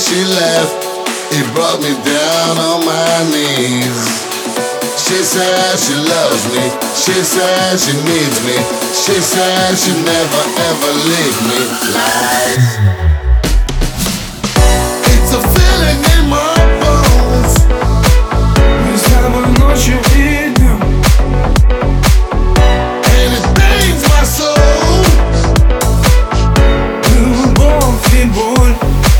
she left, it brought me down on my knees. She said she loves me, she said she needs me, she said she'd never ever leave me. Lies. It's a feeling in my bones. Мы с тобой ночью и днем, And it pains my soul. любовь и боль.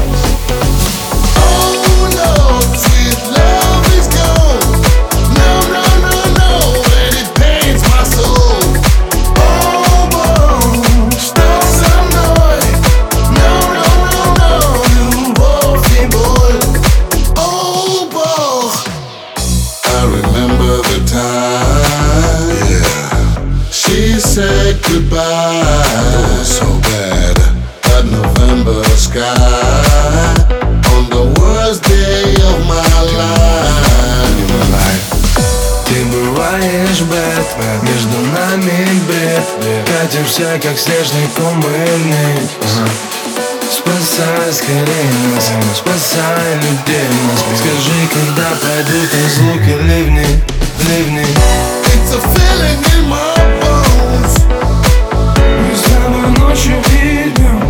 Oh no, sweet love is gone. No, no, no, no, and it pains my soul. Oh, boy, что со мной? No, no, no, no, любовь и боль. Oh, boy. I remember the time, yeah, she said goodbye. It was so bad. That November sky on the worst day of my life. Ты бываешь бэт, между нами бред. Катимся, как снежный кумыльник. Спасай скорее нас, спасай людей нас. Скажи, когда пойдут разлуки, ливни, ливни. It's a feeling in my bones. Мы с тобой ночью и днем,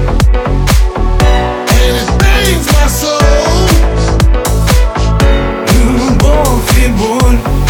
And it pains my soul. любовь и боль.